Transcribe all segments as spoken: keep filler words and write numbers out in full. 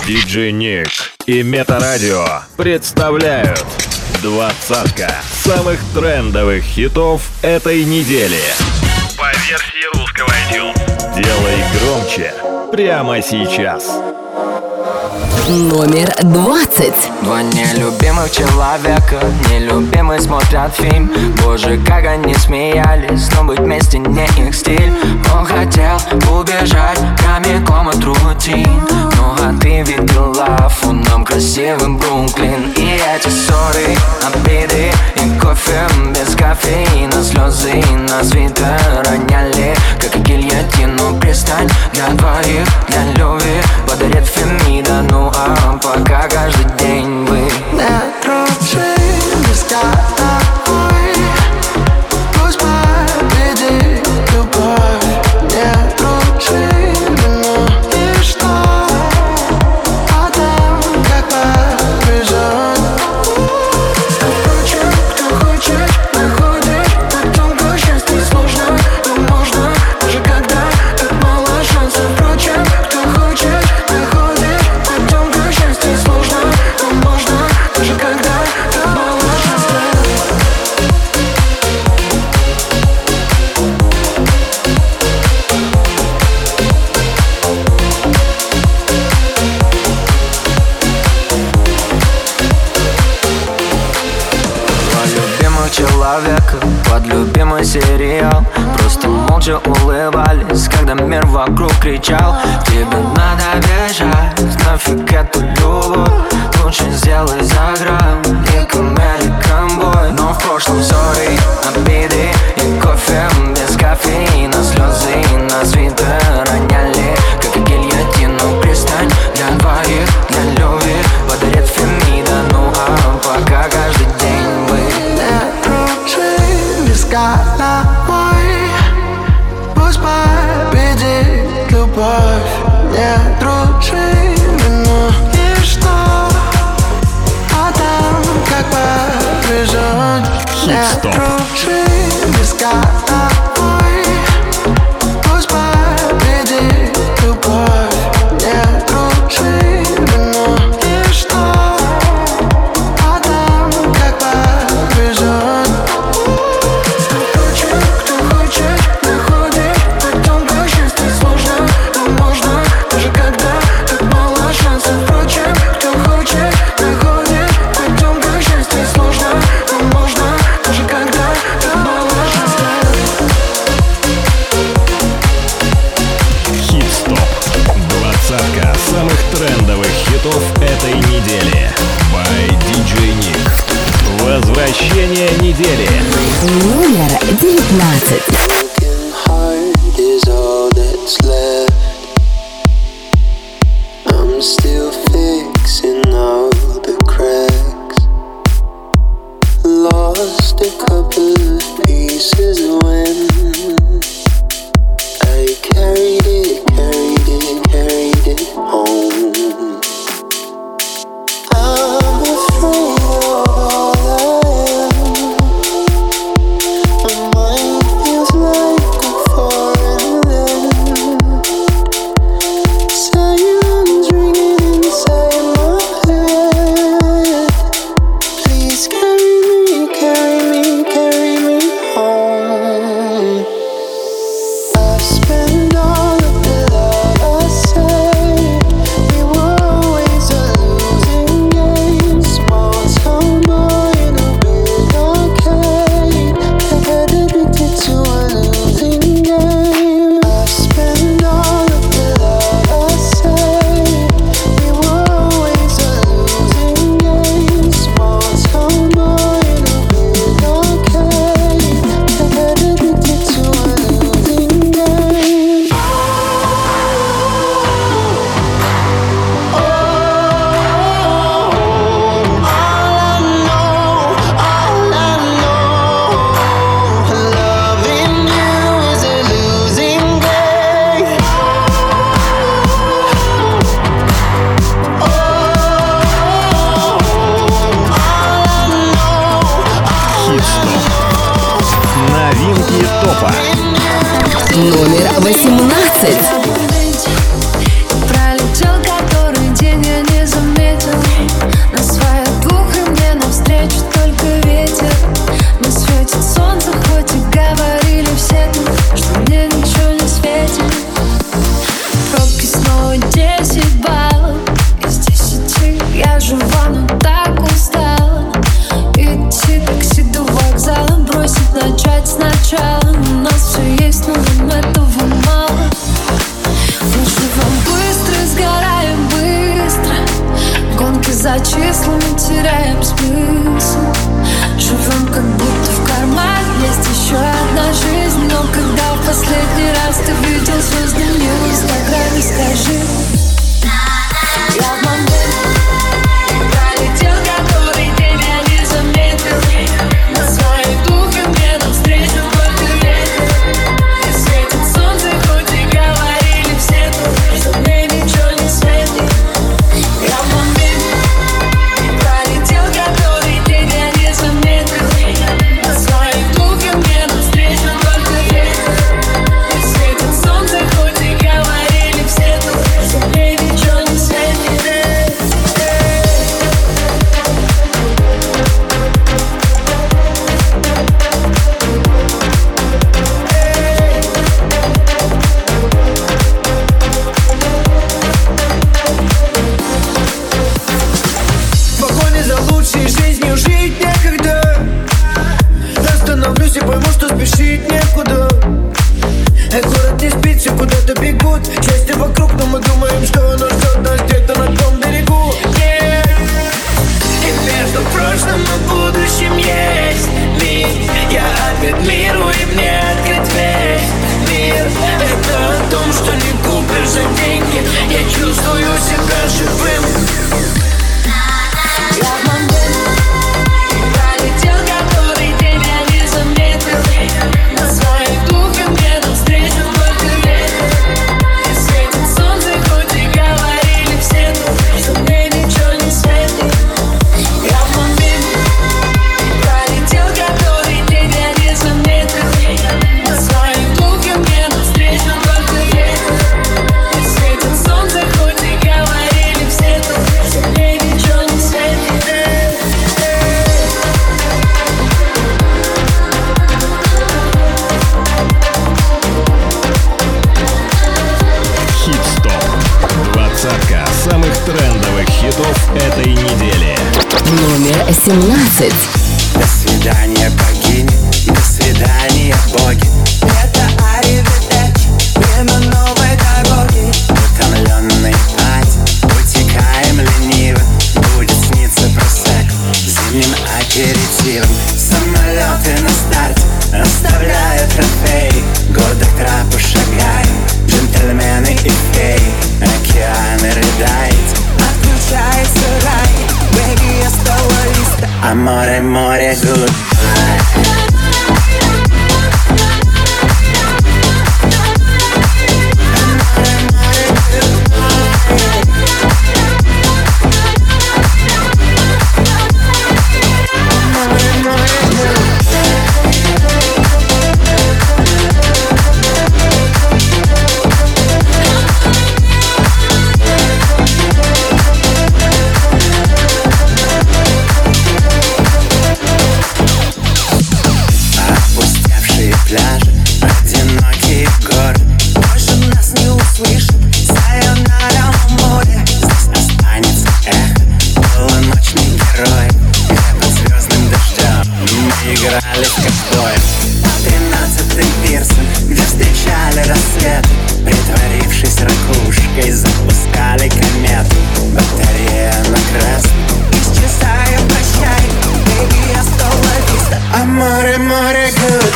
диджей Ник и Метарадио представляют двадцатка самых трендовых хитов этой недели. По версии русского iTunes. Делай громче прямо сейчас. Номер двадцать. Два нелюбимых человека, нелюбимые смотрят фильм. Боже, как они смеялись, но быть вместе не их стиль. Он хотел убежать прямиком от рутин. Ну а ты видела фоном красивым Бруклин. И эти ссоры, обиды и кофе без кофеина. Слезы на свитер роняли, как и гильотину. Пристань для двоих, для любви подарит Фемида. Ну а пока каждый день вы не дружим без головой. Пусть победит любовь. Не дружим, но ничто о том, как повезет. Впрочем, кто хочет, находит. На том, как счастье сложно, но можно, даже когда так мало шансов. Впрочем, кто хочет, находит. На том, как счастье сложно, но можно, даже когда так мало шансов. Два любимых человека под любимый сериал. Просто молча улыбались, когда мир вокруг кричал: тебе надо бежать, нафиг эту любовь. Лучше сделай за грамм и к American Boy. Но в прошлом ссоры, обиды и кофе без кофеина. Слезы на свитер роняли, как и гильотину. Пристань для двоих, для любви подарит Фемида. Ну а пока каждый день вы не дружим без головой. Пусть победит любовь. Не дружим, но ничто о том, как повезет. Не дружим без головой. Пусть победит любовь. Не дружим, но ничто о том, как повезет. Впрочем, кто хочет, находит. На том, как счастье сложно, но можно, даже когда так мало шансов. Впрочем, кто хочет, находит. На том, как счастье сложно, но можно, даже когда так мало шансов. Хит-стоп. Двадцатка самых трендовых хитов этой недели. By диджей Ник. Возвращение недели. Номер девятнадцать. Broken heart is all that's left. I'm still fixing all the cracks. Lost a couple of pieces when I carried it, carried it, carried it home. I'm afraid of all I am. My mind feels like мой десять баллов из десяти. Я жива, но так устала. Идти такси до вокзала, бросить, начать сначала. У нас все есть, но нам этого мало. Мы живем быстро, сгораем быстро. Гонки за числами, теряем смысл. Живем как будто в кармане есть еще одна жизнь. Но когда в последний раз ты видел звезды мне в инстаграме, скажи. Я в момент пролетел, который день я не заметил. На своей духе мне навстречу только ветер. И светит солнце, хоть и говорили все тут, что мне ничего не светит. Я в момент пролетел, который день я не заметил. На своей духе мне навстречу только ветер. И светит солнце, хоть и говорили все тут, что мне ничего не светит. В погоне за лучшей жизнью жить некогда. Остановлюсь и пойму, что спешить некуда. Эй, город не спит, все куда-то бегут. Счастье вокруг, но мы думаем, что оно ждет нас где-то на том берегу. Yeah. И между прошлым и будущим есть миг. Я опять миру, и мне открыть весь мир. Это о том, что не купишь за деньги. Я чувствую себя живым. Я в момент пролетел, который день я не заметил. На своей духе мне навстречу только ветер. И светит солнце, хоть и говорили все тут, что мне ничего не светит. Я в момент пролетел, который день я не заметил. На своей духе мне навстречу только ветер. И светит солнце, хоть и говорили все тут, что мне ничего не светит. Хит-стоп. Двадцатка самых трендовых хитов этой недели. Номер семнадцать. До свидания, богини, до свидания, боги. Это аривидерчи, время новой дороги. Утомленный пать, утекаем лениво. Будет сниться просек зимним аперитивом. Самолеты на старте оставляют трофеи. Годы к трапу шагаем, джентльмены и феи. Океаны рыдает, отключается рай. Бэги, я стала листа, а море, море, goodbye. Опустевшие пляжи, одинокие горы. Больше нас не услышит сайонара море. Здесь останется эхо полуночный герой, где под звездным дождем мы играли в ковбоя. Тринадцатый пирсон, где встречали рассветы, притворившись ракушкой, запускали комету. Батарея на красный, исчезаем, прощай. Baby, я стала виста, а море, море, goodbye.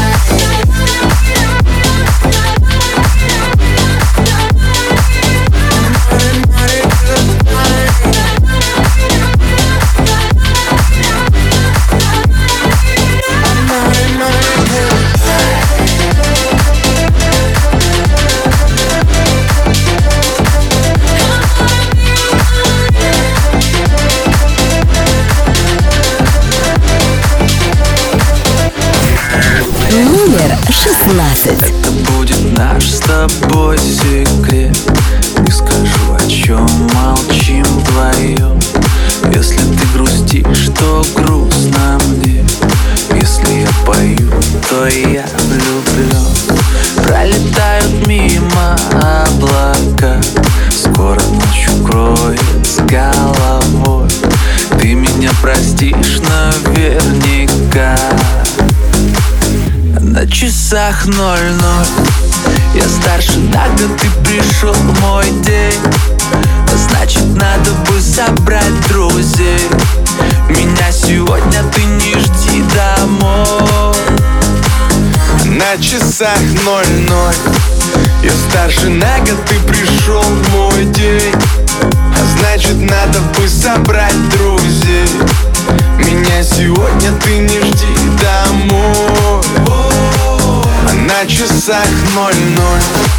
Номер шестнадцать. Это будет наш с тобой секрет. Не скажу, о чем молчим вдвоем. Если ты грустишь, то грустно мне. Если я пою, то я влюблен. Пролетают мимо облака, часах ноль-ноль. Я старше на год, ты пришел в мой день. Значит, надо бы собрать друзей. Меня сегодня ты не жди домой. На часах ноль-ноль. Я старше на год, ты пришел в мой день. А значит, надо бы собрать друзей. Меня сегодня ты не жди домой. А на часах ноль-ноль.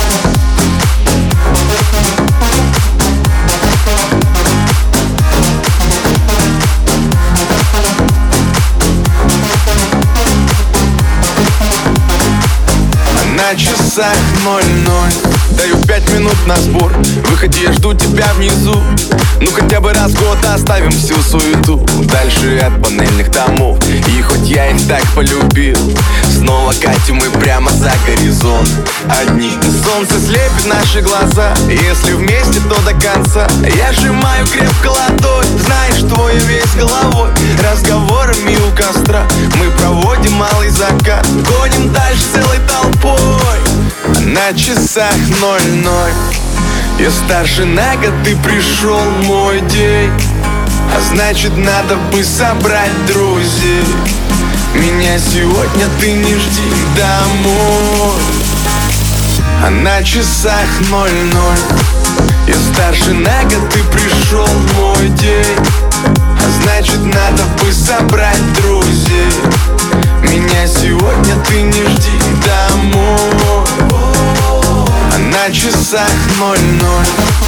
На часах ноль-ноль. Даю пять минут на сбор. Выходи, я жду тебя внизу. Ну хотя бы раз в год оставим всю суету. Дальше от панельных домов. И хоть я их так полюбил, снова катим мы прямо за горизонт. Одни солнце слепит наши глаза. Если вместе, то до конца. Я сжимаю крепко ладонь. Знаешь, твой весь головой. Разговорами у костра мы проводим малый закат. Гоним дальше целой толпой. На часах ноль-ноль. Я старше на год, ты пришел в мой день. А значит, надо бы собрать друзей. Меня сегодня ты не жди домой. А на часах ноль-ноль. Я старше на год, ты пришел в мой день. А значит, надо бы собрать друзей. Меня сегодня ты не жди домой. А на часах ноль-ноль.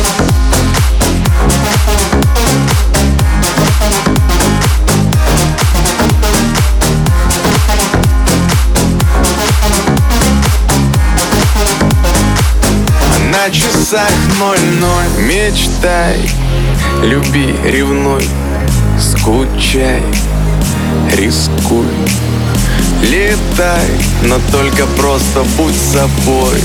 А на часах ноль-ноль. Мечтай, люби, ревнуй, скучай, рискуй. Летай, но только просто будь собой.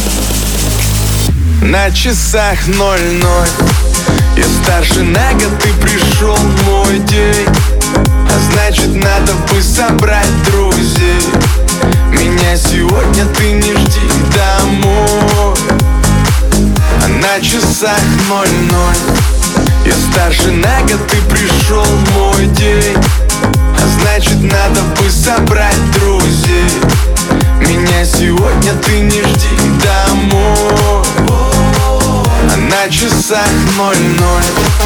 На часах ноль-ноль. Я старше на год, ты пришел в мой день. А значит, надо бы собрать друзей. Меня сегодня ты не жди домой. А на часах ноль-ноль. Я старше на год, ты пришел в мой день. А значит, надо бы собрать друзей. Меня сегодня ты не жди домой. А на часах ноль-ноль.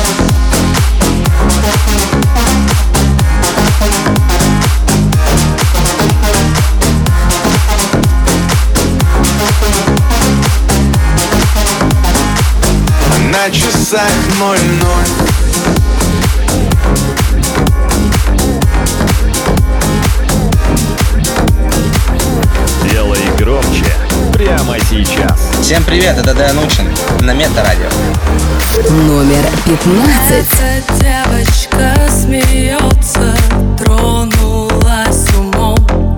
А на часах ноль-ноль. Делай громче прямо сейчас. Всем привет, это Дэн Учин на Метарадио. Номер пятнадцать. Эта девочка смеется, тронулась умом.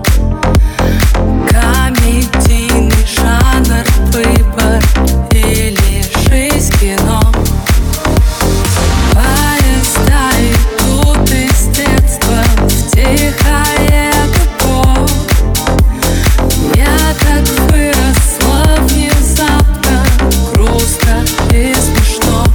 Комедийный жанр, выбор или жизнь кино. Поезда идут из детства в тихое депо. Я так выросла внезапно, грустно и смешно.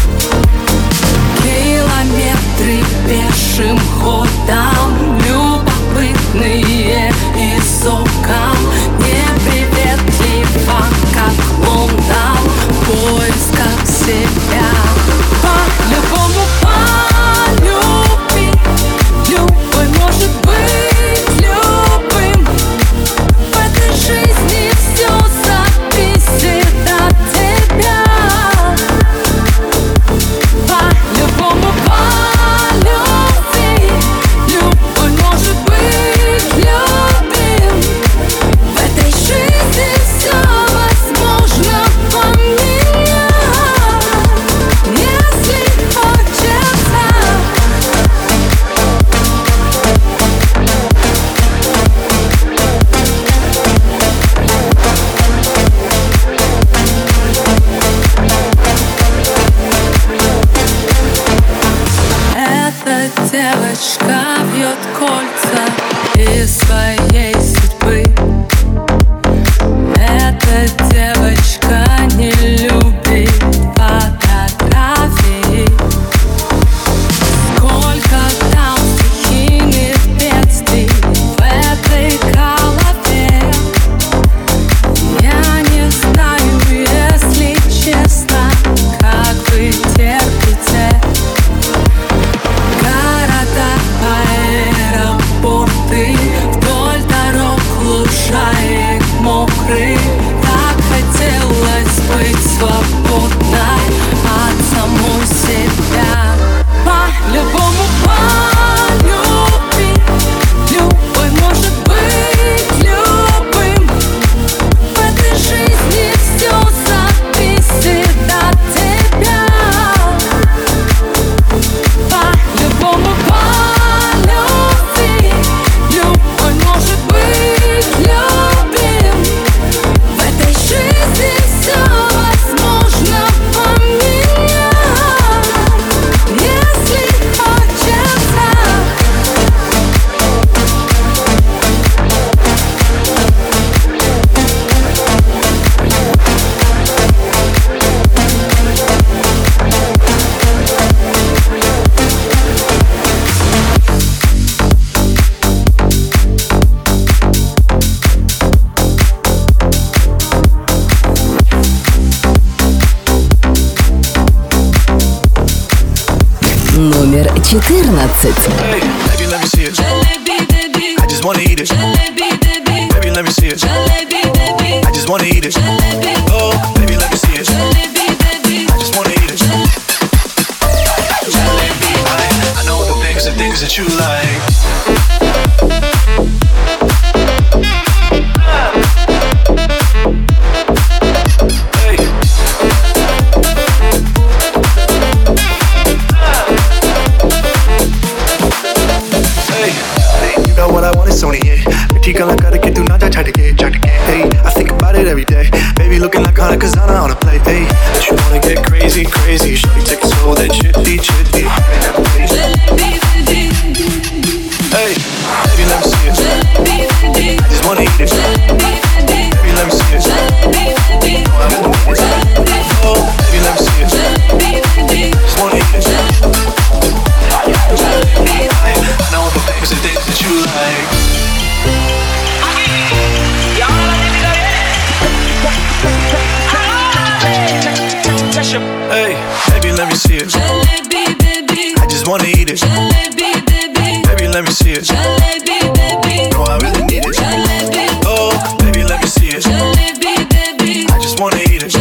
Километры пешим ходом, любопытные из окон, неприветливо, как Лондон, в поисках себя. По-любому полюби, любой может быть любым. В этой жизни все зависит от тебя. По-любому полюби, любой может быть любим. В этой жизни все возможно поменять, если хочется. Эта девочка вьет кольца из своей судьбы. Номер четырнадцать. Hey, baby, let me see it. I just wanna eat it. Baby, let me see it. I just wanna eat it. Oh, baby, let me see it. I just wanna eat it. I, I know the things, the things that you like. Gonna gotta get through, not try to get, try to get. Hey, I think about it every day. Baby looking like Hana Kazana on a plate. Hey, but you wanna get crazy, crazy. Shorty take it slow, then chitty, chitty. Hey, baby, let me see it. I just wanna eat it. Baby, let me see it. Oh, I really need it. Oh, baby, let me see it. I just wanna eat it. I know the things, the things that you like. Hey, baby, let me see it. I just wanna eat it. Baby, let me see it. No, I really need it. Oh, baby, let me see it. I just wanna eat it.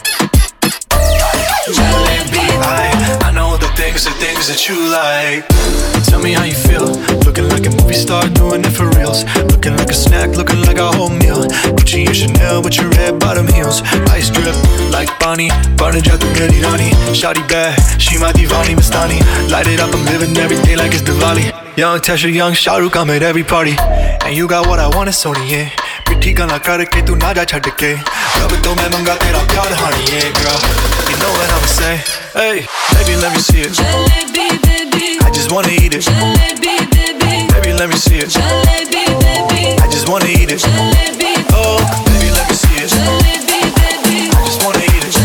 I, I know the things, the things that you like. Tell me how you feel. Looking like a movie star, doing it for reals. Looking like a snack, looking like a whole meal. Gucci and Chanel with your red bottom heels. Ice drip like Bonnie, Barnage out the Gadi Rani. Shawty bad, she my divani Mastani. Light it up, I'm living every day like it's Diwali. Young Tesha, young Shahrukh, I'm at every party. And you got what I want, it's only yeah. Pithi gana karke tu na ja chhad ke. Rab to main manga tera pyar honey, yeah girl. You know what I'ma say. Hey, baby, let me see it. I just wanna eat it. Baby, let me see it. I just wanna eat it. Oh, baby, let me see it. I just wanna eat it.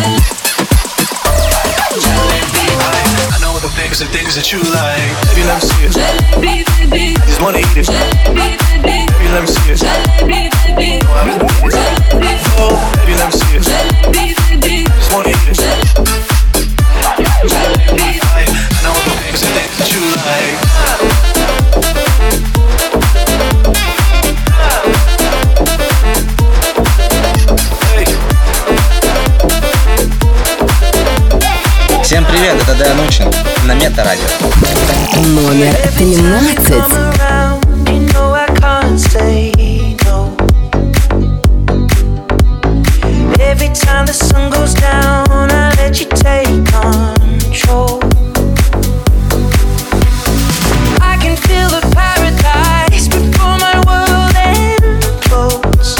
I, I know the things, the things that you like. Baby, let me see it. I just wanna eat it. Baby, let me see it. Oh, I really need it. Oh, baby, let me see it. I just wanna eat it. I, I know the things, the things that you like. Всем привет, это Дэн Учин на Мета-радио. Номер тринадцать. Every time the sun goes down, I let you take control. I can feel the paradise before my world implodes.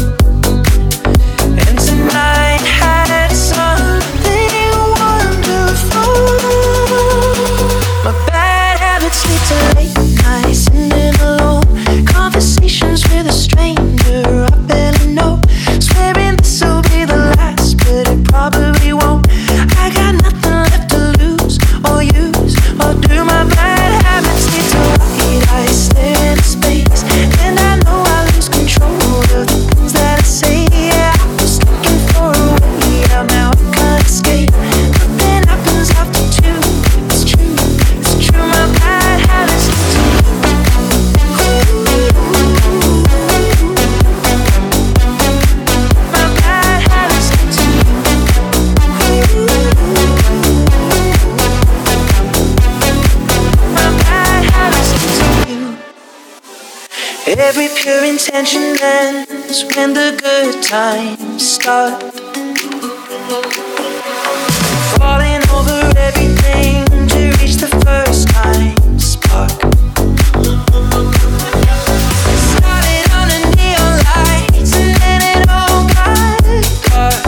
And tonight had something wonderful. My bad habits lead to late nights, sitting alone. Conversations with a stranger I barely know. Swearing this'll be the last, but it probably won't. I got nothing left to lose or use or do. My bad habits lead to white eyes stare into space, and I know I lose control of the things that I say. Yeah, I was looking for a way out, now I can't escape. Nothing happens after two. It's true, it's true. My bad habits lead to my bad habits lead to my bad habits lead to you. Every pure intention ends when the good times start. Falling over everything to reach the first time spark. Started on the neon lights and then it all got dark.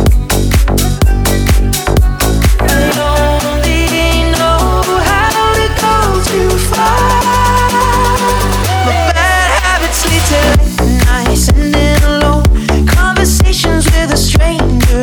I only know how to go too far. My bad habits lead to late nights and then alone. Conversations with a stranger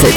одиннадцать.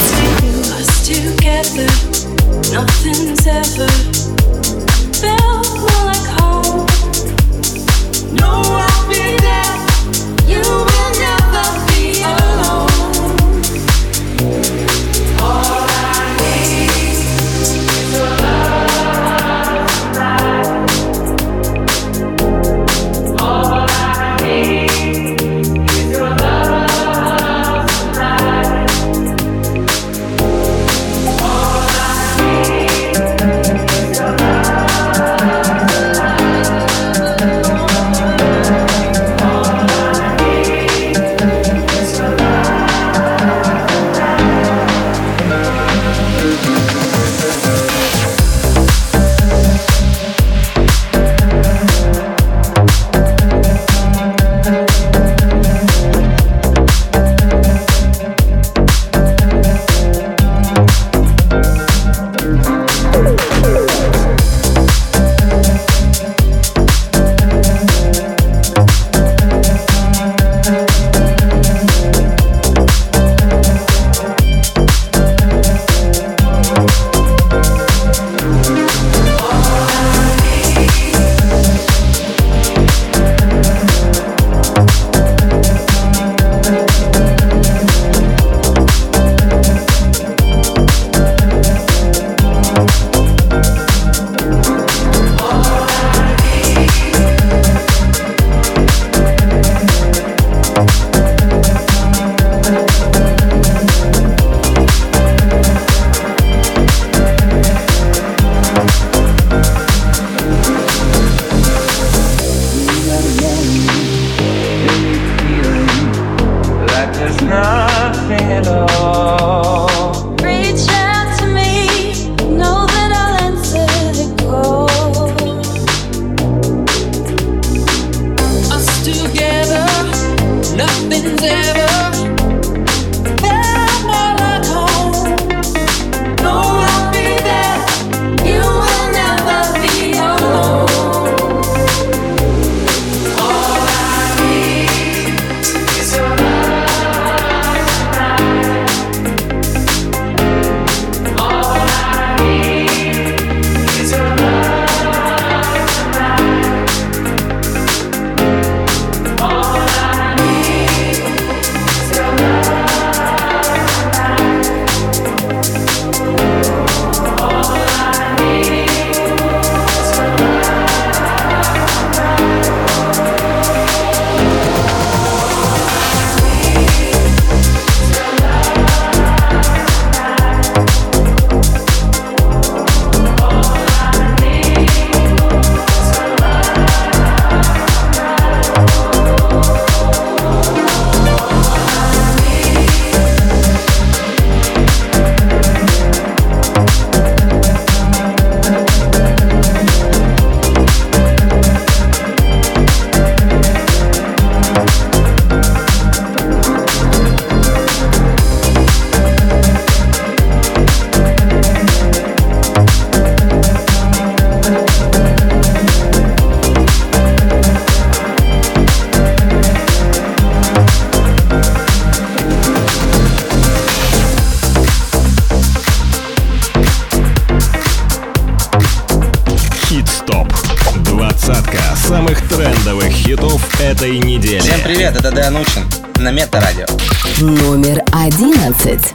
самых трендовых хитов этой недели. Всем привет, это Дэн Учин на Мета-радио. Номер одиннадцать.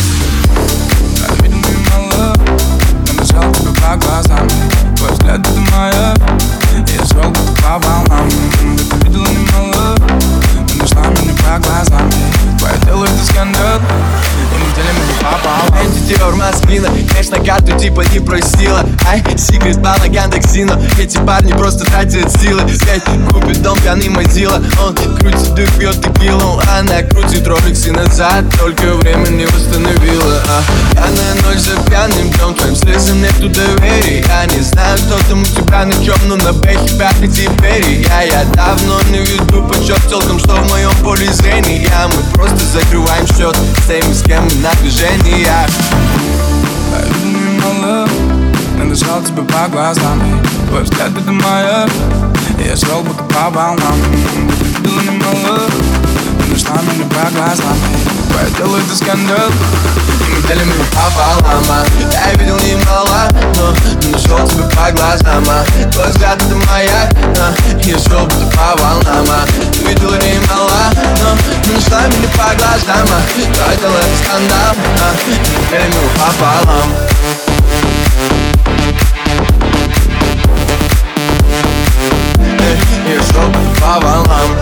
Набежал тебе по глазам, твой взгляд это моя. Я шел по волнам, ты видела немало. Ты нашла меня по глазам, твое тело это скандал. И мы делим это пополам. Антитер Москвина, конечно, карту типа не просила. Ай, секрет плана Яндекс.Зина. Эти парни просто тратят силы. Пять купит дом, пьяный мазила. Он крутит и пьет текилу. Она крутит роликсы назад, только время не восстановила. а, Пьяная ночь за пьяным днем, твоим слезам нету доверия. Я не знаю, кто там у тебя на чем, но на бэхе пятый теперь. Я, я давно не веду почет телкам, что в моем поле зрения. Мы просто закрываем счет с теми, с кем мы на движении. Надышал тебе по глазам, твой взгляд это моя. Я шел будто по волнам, ты видела немало. нашла меня по глазам. Я делаю это скандал, и мы делим его пополам. Я видел немало, но нашел тебя по глазам. Твой взгляд это маяк, я шел будто по волнам. Ты видела немало, но нашла меня по глазам. Я делаю это скандал, и мы делим его пополам. Я шел будто по волнам.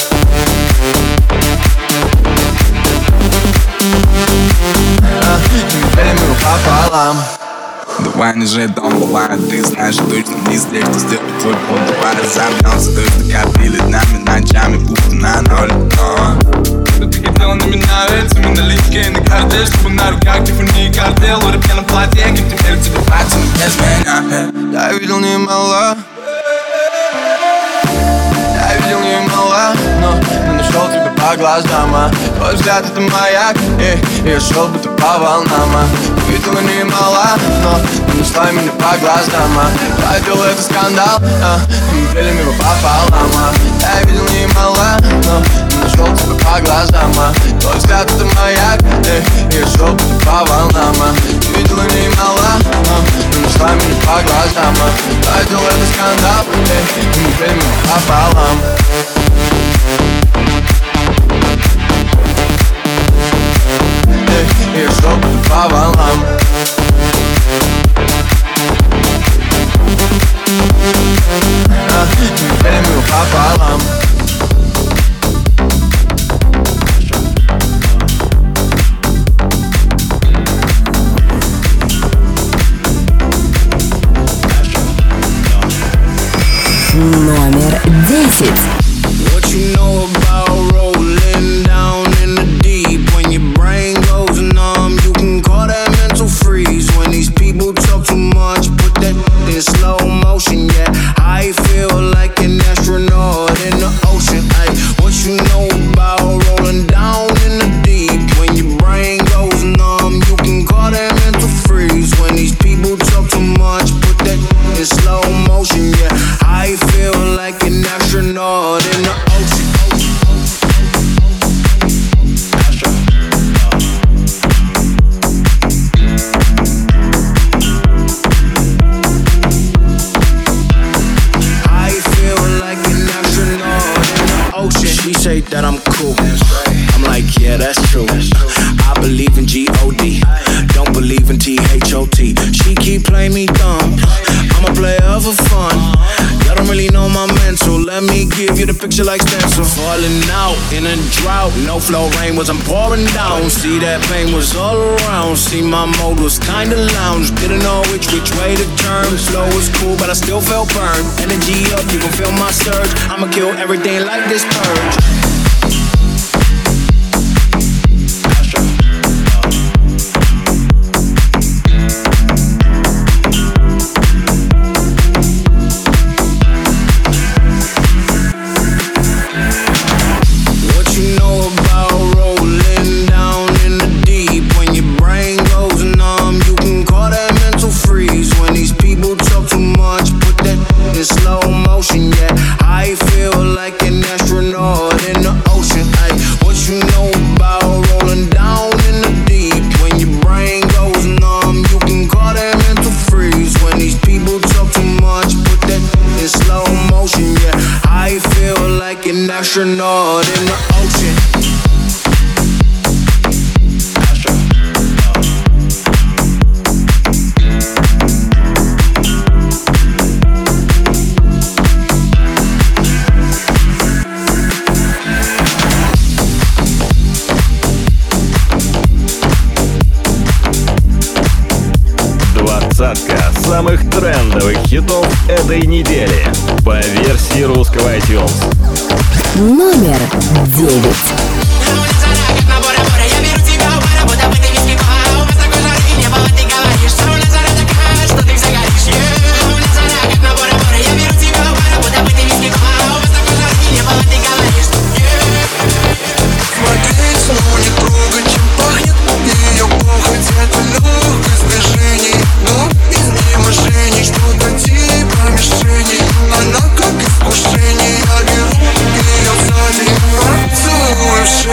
Пополам. Давай не жить дом, бывает, ты знаешь точно не здесь, кто сделает твой пол. Давай разобьемся, точно копили нами ночами, будто на ноль. Что ты хотела на меня, ведь мы налички на карте, чтобы на руках Тиффани и картел. В рыбьяном платье, как теперь тебе платье, но без меня. Я видел немало, я видел немало, но не нашел тебя по глазам. Твой взгляд это маяк, и я шел будто по волнам. Видела немало, но не нашла меня по глазам. Я делал это скандал, и мы делим его пополам. Я видел немало, но не нашел тебя по глазам. Твой взгляд это маяк, и я шел будто по волнам. Видела немало, но не нашла меня по глазам. Я делал это скандал, и мы делим его пополам. Я шел будто по волнам. Мы делим его пополам. Номер десять. What you know about rolling down in the deep? When your brain goes numb, you can call that mental freeze. When these people talk too much, put that in slow motion. Yeah, I feel like an astronaut in the ocean. Ay, what you know about rolling down in the deep? When your brain goes numb, you can call that mental freeze. When these people talk too much, put that in slow motion. Yeah, I feel like an astronaut in the ocean. I feel like an astronaut in the ocean. She say that I'm cool. I'm like, yeah, that's true. I believe in G O D, don't believe in T H O T. She keep playing me dumb. I'm a player for fun. Y'all don't really know my mental. Let me give you the picture like stencil. Falling out in a drought. No flow rain was I'm pouring down. See that pain was all around. See my mode was kinda lounge. Didn't know which which way to turn. Slow was cool, but I still felt burned. Energy up, you can feel my surge. I'ma kill everything like this purge. Astronaut in the ocean. Двадцатка самых трендовых хитов этой недели по версии русского iTunes. Номер девять. She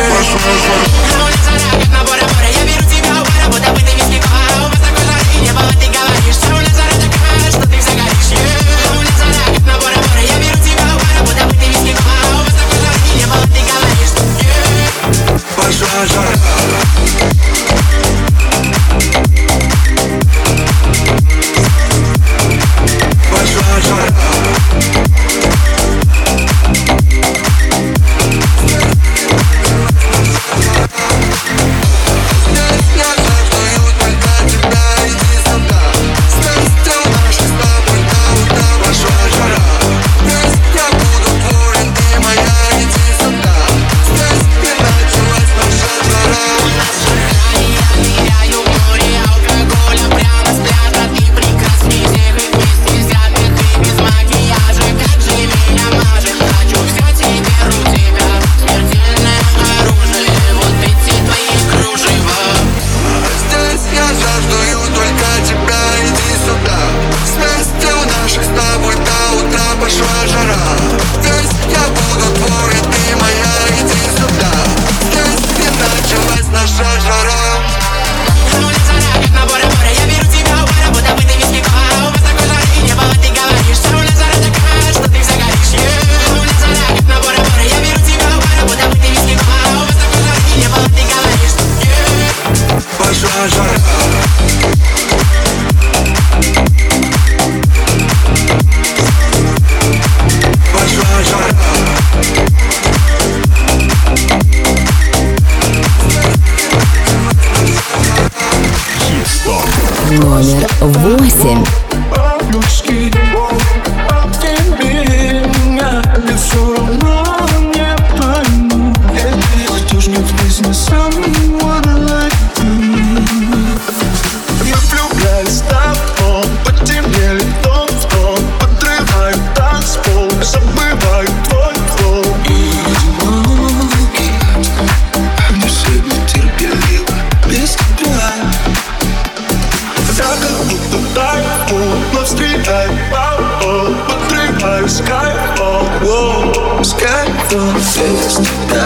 Skyfall, whoa, Skyfall. Без тебя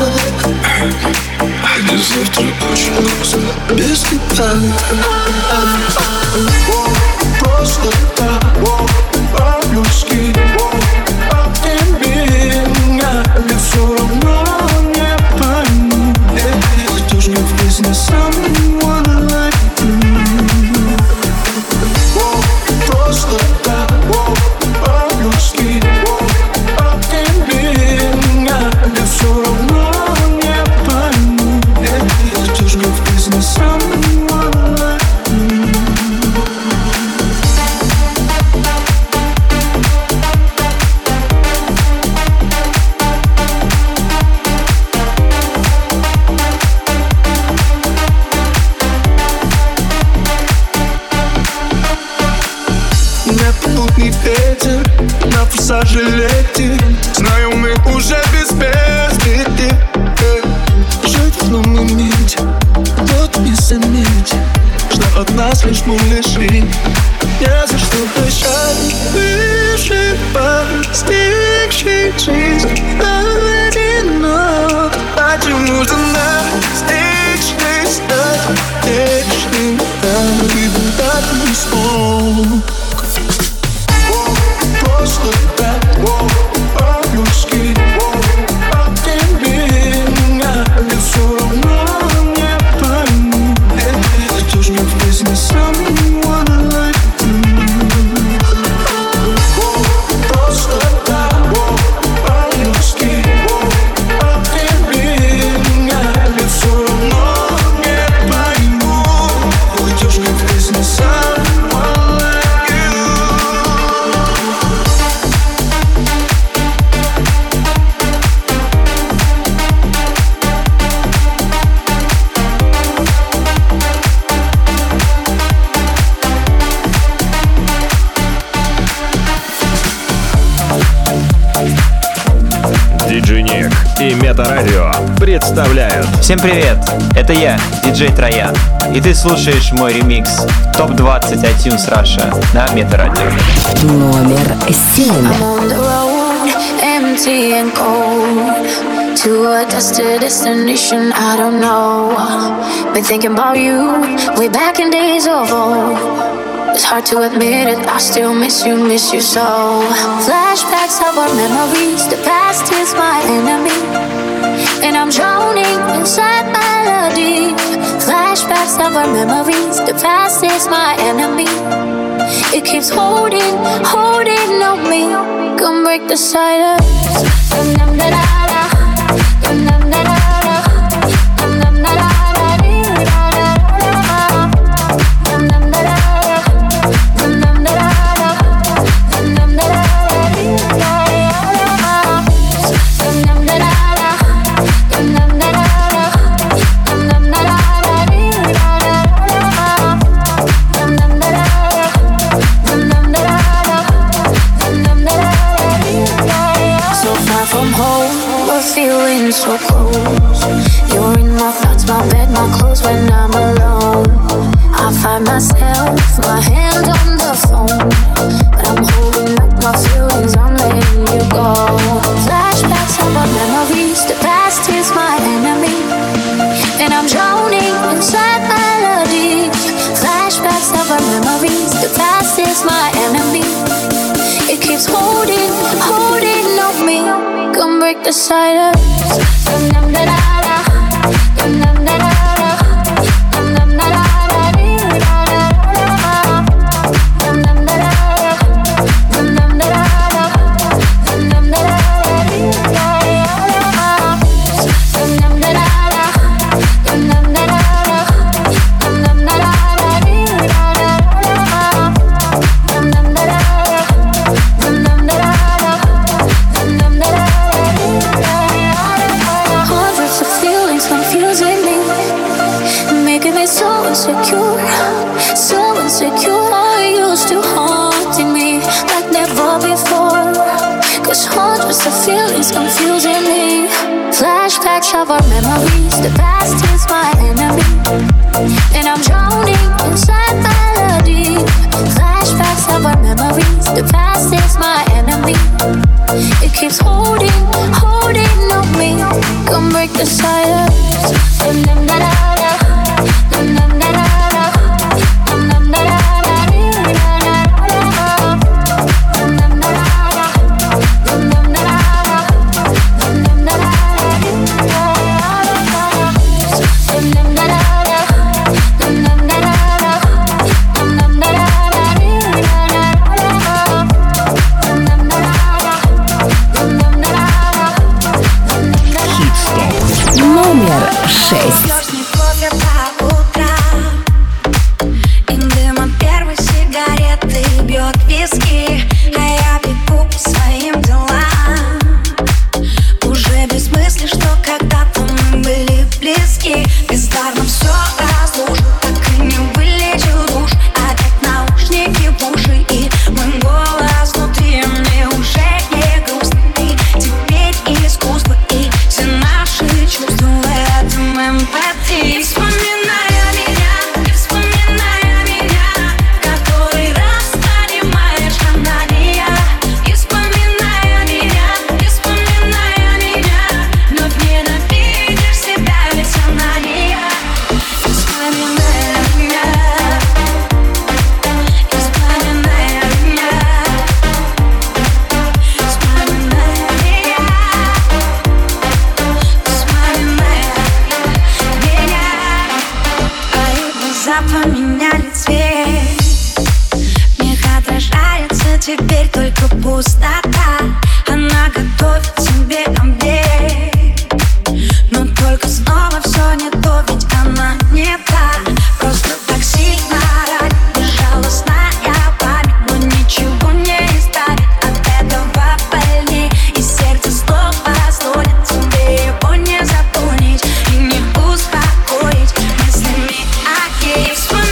до завтра очень грустно. Без тебя просто так, по-людски. А ты меня ведь все равно не пойму. Кто ж мне в жизни someone like you? Просто так, по-людски. А ты меня ведь все равно не пойму. Кто ж мне в жизни someone like you? Непутный ветер на форсаже летит. Знаю, мы уже без песни. Жить в одном моменте, вот не заметить, что от нас лишь мы лишь. Не за что прощать, выживать, стихшей жизни одинок. Почему же нас стихшей стать вечным? Ты бы так не смог. Просто так, по-людски. А ты меня ведь все равно не пойму. Кто ж мне в жизни someone like you? Просто так, по-людски. А ты меня ведь все равно не пойму. Кто ж мне в жизни someone like you? Диджей Ник и Метарадио представляют. Всем привет, это я, диджей Троян, и ты слушаешь мой ремикс топ двадцать iTunes Russia на Метарадио. Номер семь. I'm on the road, empty and cold, to a destined destination I don't know. Been thinking about you, way back in days of old. It's hard to admit it, I still miss you, miss you so. Flashbacks of our memories, the past is my enemy, and I'm drowning inside melody. Flashbacks of our memories, the past is my enemy. It keeps holding, holding on me. Come break the silence. Feeling so close. You're in my thoughts, my bed, my clothes when I'm alone. I find myself, my hand on the phone, but I'm holding up my feelings, I'm letting you go. Flashbacks of our memories, the past is my enemy, and I'm drowning inside melodies. Flashbacks of our memories, the past is my enemy. It keeps holding, holding on me. Come break the silence. Insecure, so insecure. You still haunting me like never before. Cause hundreds of feelings confusing me. Flashbacks of our memories, the past is my enemy, and I'm drowning inside melody. Flashbacks of our memories, the past is my enemy. break the silence. Номер шесть. Поменяли цвет, в них отражается теперь только пустота. Она готовит себе обед, но только снова все не то, ведь она не та. Просто так сильно ранит безжалостная память, но ничего не исправит от этого больней. И сердце снова стонет, тебе его не запомнить и не успокоить мыслями о ней.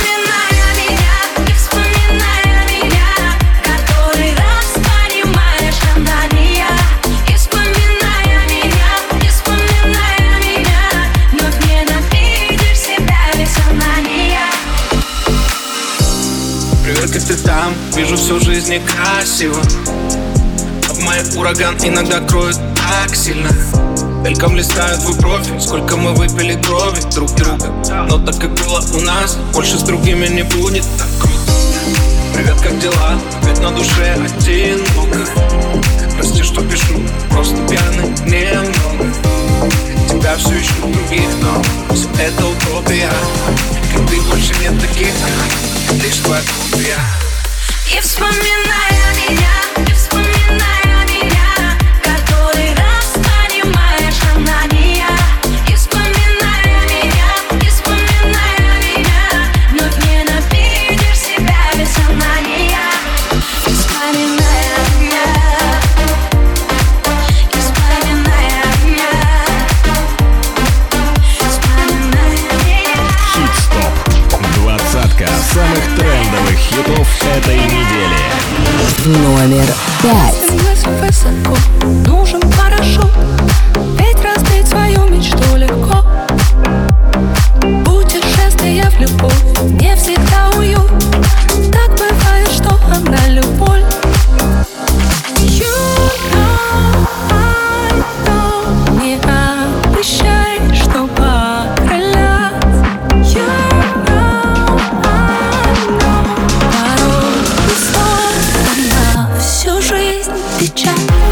Как ты там, вижу всю жизнь некрасиво. Об моей ураган иногда кроет так сильно. Мельком листаю твой профиль, сколько мы выпили крови друг друга. Но так как было у нас, больше с другими не будет так круто. Привет, как дела? Ведь на душе одиноко. Прости, что пишу, просто пьяный немного. Тебя все ищу других, но все это утопия. Как ты, больше нет таких, лишь твоя копия. И вспоминая меня, и вспоминая меня, который раз понимаешь, она не я. И вспоминая меня, и вспоминая меня, вновь ненавидишь себя, ведь она не я. И вспоминая меня, и вспоминая меня, вспоминая меня. Хит-стоп. Двадцатка самых трендовых хитов этой недели. Номер пять. Высоко нужен парашют, ведь разбить свою мечту легко. Путешествие в любовь не всегда уют. Так бывает, что она любовь. You know, I know. Не обещай, что покорять. You know, I know. Порой и снова на всю жизнь печаль.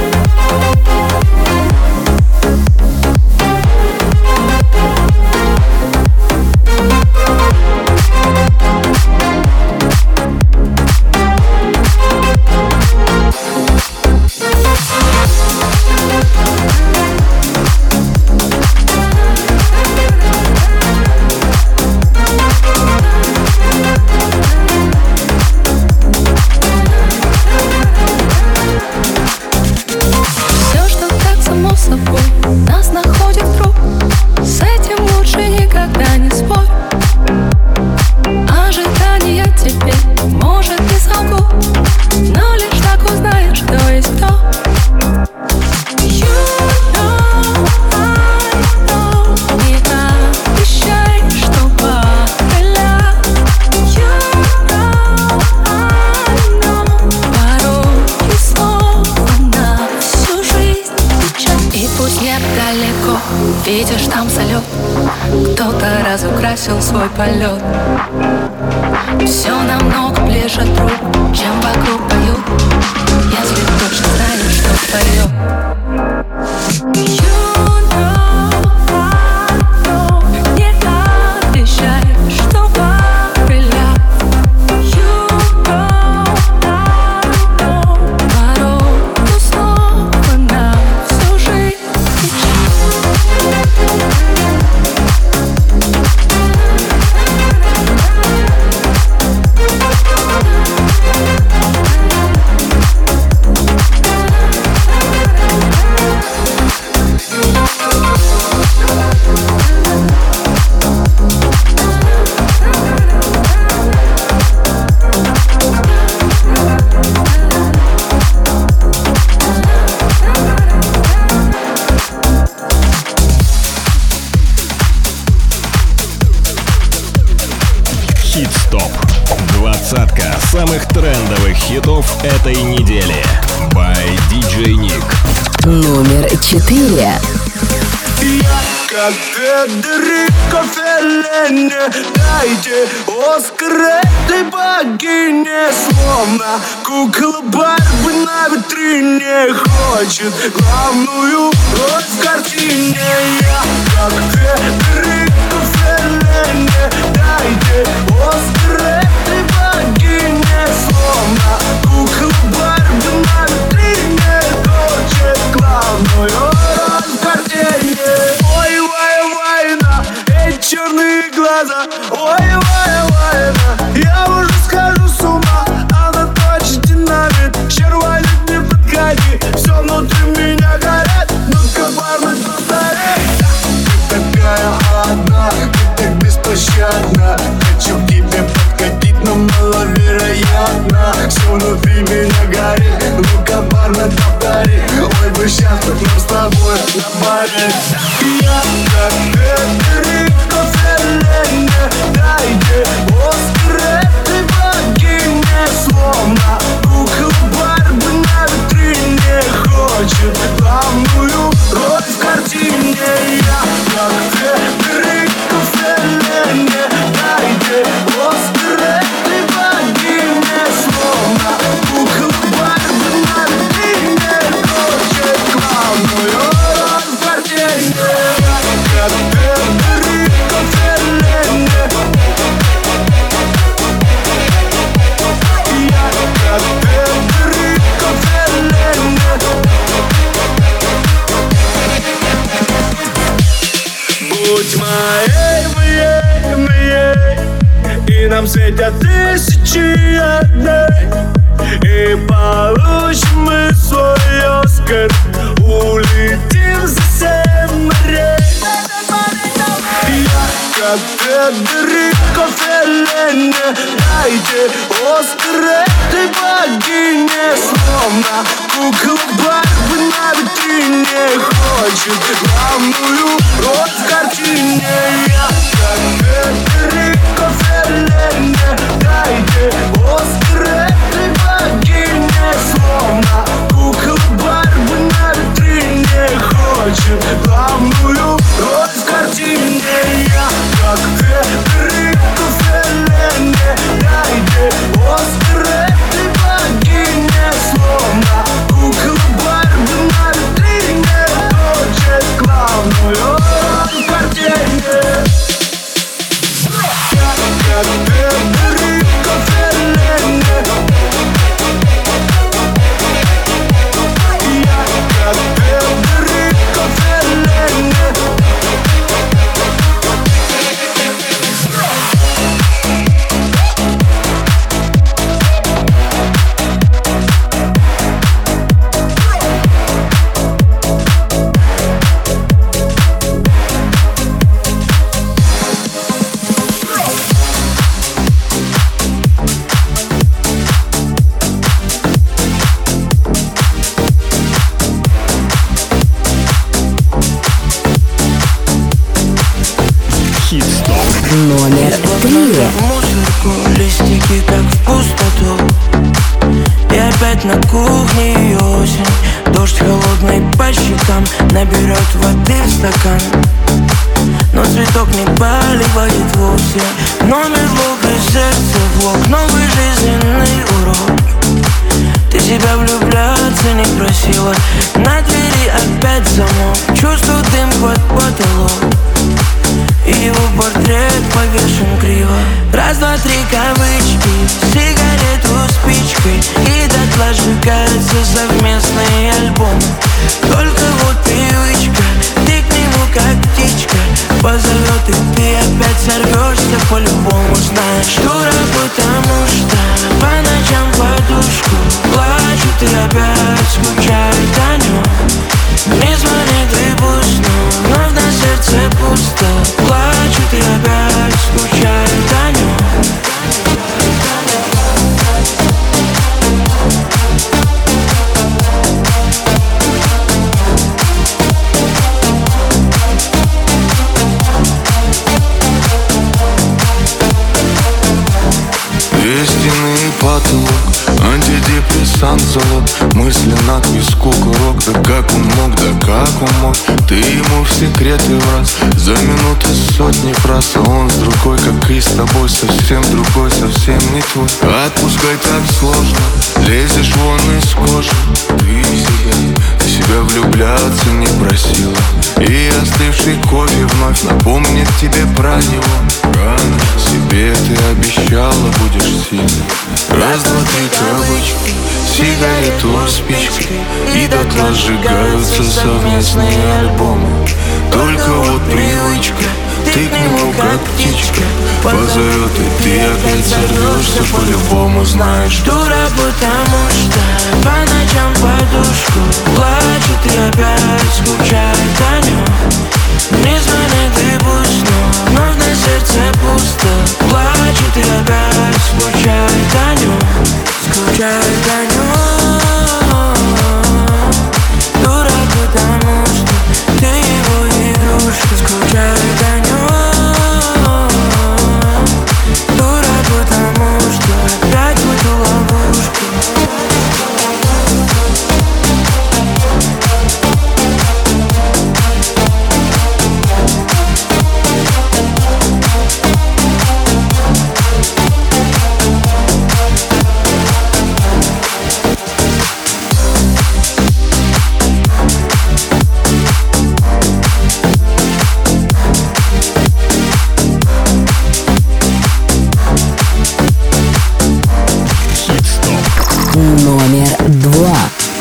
Все, что так само собой нас находит круг, с этим лучше никогда не спорь. Ожидания теперь, может, не солгу, но лишь так узнаешь, кто есть кто. You know, I know. Не обещай, что покорять. You know, I know. Порой и снова на всю жизнь печаль. И пусть нет далеко видишь там салют. Кто-то разукрасил свой полет. Все намного ближе друг, чем вокруг поют. Если точно знаешь, что твое. Двадцатка самых трендовых хитов этой недели. By ди джей Nick. Номер четыре. Я как Федерико Феллини, дайте Оскар этой богине. Словно кукла Барби на витрине хочет главную роль в картине. Я как Федерико Феллини, дайте Оскар этой богине. Словно кукла Барби на витрине хочет главную роль в картине. Ой, вай, вайна, эти черные глаза. Ой, вай, вайна, я уже схожу с ума. Она точит динамит, червонит, не подходи. Все внутри меня горит, ну-ка, парни, повтори. Ты такая одна, ты так беспощадна. Хочу к тебе подкатить, но маловероятно. Все внутри меня горит, ну-ка, парни, повтори. Ой, бы сейчас тут нам с тобой на баре. Я как Федерико Феллини, дайте Оскар этой богине. Словно кукла Барби на витрине хочет главную роль в картине. Я как Федерико Феллини, дайте Оскар этой богине. Словно кукла Барби на витрине хочет главную роль в картине. Я как Федерико Феллини. Я как Федерико Феллини. Будь моей, моей, моей, и нам светят тысячи одной. И получим мы свой Оскар, улетим за семь морей. Я как Федерико Феллини, дайте Оскар этой богине. Словно кукла Барби на витрине хочет главную роль в картине. Я как Федерико Феллини, дайте Оскар этой богине. Словно кукла Барби на витрине хочет главную роль в картине. Я как Федерико Феллини, дайте Оскар этой богине. Словно кукла Барби на витрине хочет главную роль в картине. Я как Федерико Феллини. Я как Федерико Феллини. Номер три. Мусорку, листики как в пустоту. И опять на кухне осень. Дождь холодный по по щекам, наберет воды в стакан. Но цветок не поливает вовсе. Номер в и сердце влог, новый жизненный урок. Ты себя влюбляться не просила, на двери опять замок. Чувствую дым под потолок, и его портрет повешен криво. Раз, два, три кавычки, сигарету спичкой, и дотла сжигаются совместные альбомы. Только вот привычка, ты к нему как птичка позовет, и ты опять сорвешься по-любому. Знаешь, дура, потому что по ночам подушку плачут и опять скучают о нем. Не звонит и пусть, но вновь на сердце пусто. Плачут и опять скучают о нем. Стены и потолок, антидепрессант залог. Мысли на песку курок. Да как он мог, да как он мог. Ты ему в секреты враз. За минуты сотни фраз. А он с другой, как и с тобой. Совсем другой, совсем не твой. Отпускай так сложно, лезешь вон из кожи. Ты себя, ты себя влюбляться не просила. И остывший кофе вновь напомнит тебе про него. Рано себе ты обещала, будешь сильной. Раз, два, три кавычки, сигарету спичкой, и дотла сжигаются совместные альбомы. Только вот привычка, ты к нему как птичка позовет, и ты опять сорвешься по-любому. Знаешь, дура, потому что по ночам подушку плачет и опять скучает о нем. Не звонит и пусть, но вновь на сердце пусто. Плачет и опять скучает о нем. Скучает о нем. Дура, потому что ты его игрушка. Скучает о нем. Дура, потому что опять в эту ловушку. Номер два.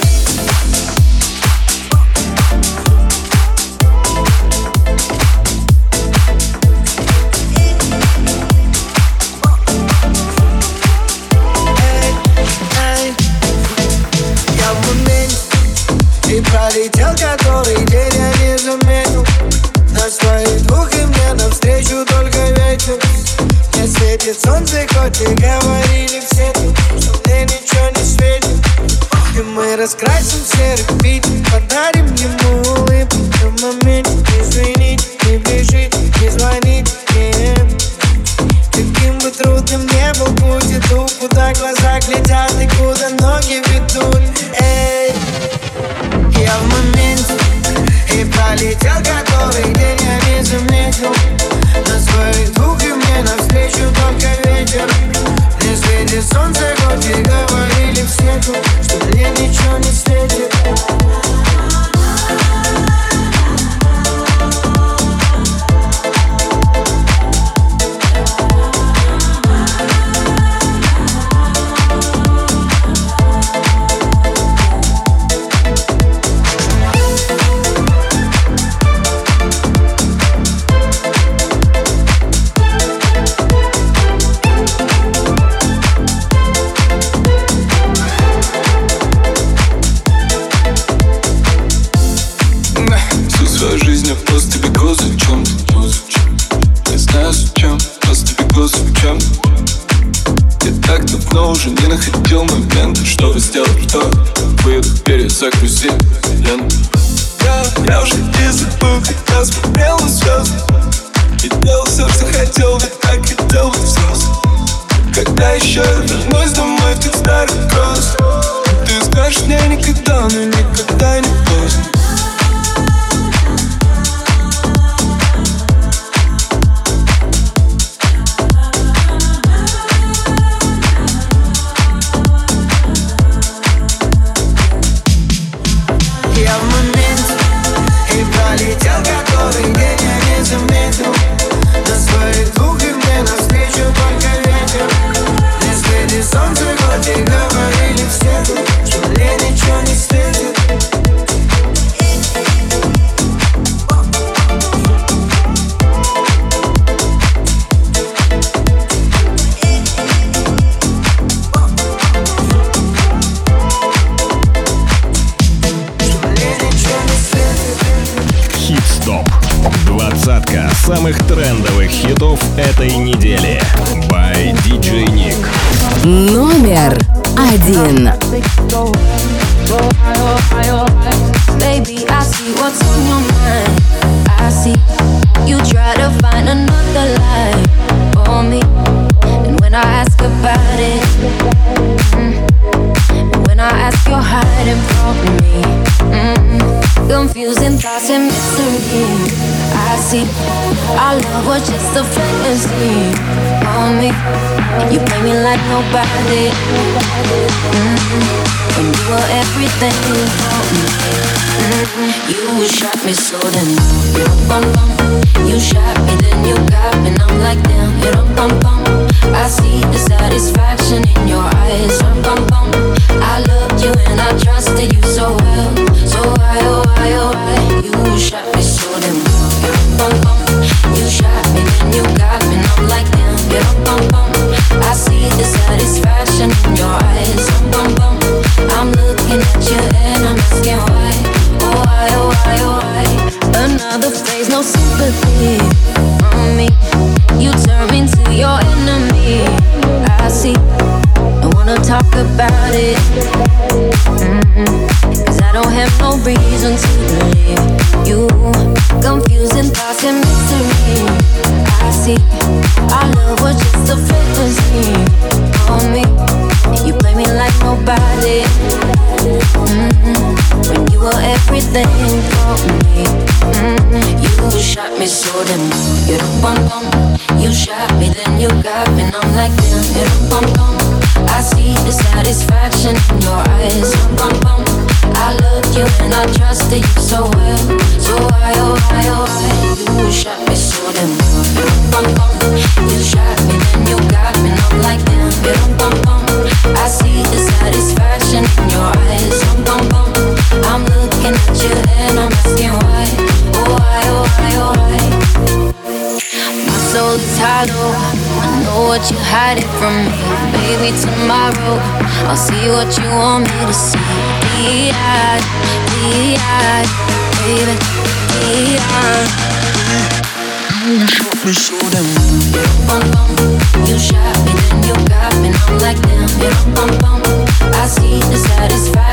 Я в моменте, и пролетел который день, я не заметил. На своих двух и мне навстречу только ветер. Не светит солнце, хоть и говорили все, что мне ничего не светит. И мы раскрасим серый Питер, подарим ему улыбку. В моменте извините, не бежите, не звоните, нет. Каким бы трудным не был путь, иду, куда глаза глядят и куда ноги ведут. Эй, я в моменте, и пролетел который день, я не заметил. На своих двух и мне навстречу только ветер. Не светит солнце, хоть и говорили все, что мне ничего не светит. Уже не находил момента, чтобы сделать то. Выдох, перезагрузи ленту. Я, я уже и забыл, как я смотрел на звезды. И делал все, что хотел, ведь так хотел быть взрослым. Когда еще я вернусь домой в тот старый кросс, ты скажешь мне никогда, но никогда не поздно. самых трендовых хитов этой недели. By ди джей Nick. Номер один. Baby, I see what's on your mind. I see you try to find another lie for me. And when I ask about it, mm, and when I ask, you're hiding from me. Mm, confusing thoughts and mystery. I see our love was just a fantasy on me. You play me like nobody. Mm-hmm. When you were everything for me. Mm-hmm. You shot me so then you bum bum. You shot me then you got me and I'm like damn you dum bum bum. I see the satisfaction in your eyes bum bum bum. I loved you and I trusted you so well. So why oh why oh why you shot me so then you bum bum. You shot me then you got me and I'm like damn you dum bum bum. I see the satisfaction in your eyes bum bum bum. I'm looking at you and I'm asking why, oh why, oh why, oh why. Another phrase, no sympathy on me. You turn me into your enemy. I see, I wanna talk about it. Mm-hmm. Cause I don't have no reason to believe you. Confusing thoughts and mystery. I see, our love was just a fantasy on me. You play me like nobody. Mm-hmm. When you were everything for me. Mm-hmm. You shot me so then you dum bum bum. You shot me then you got me and I'm like damn you dum bum bum. I see the satisfaction in your eyes bum bum bum. I loved you and I trusted you so well. So why oh why oh why you shot me so then you dum bum bum. You shot me then you got me and I'm like damn you dum bum bum. I see the satisfaction in your eyes bum bum bum. I'm looking at you and I'm asking why, oh why, oh why, oh why. My soul is hollow, I know what you're hiding from me. Baby, tomorrow I'll see what you want me to see. D-I, D-I, baby, D-I. You shot me so damn you bum bum. You shot me then you got me and I'm like damn you bum bum. I see the satisfaction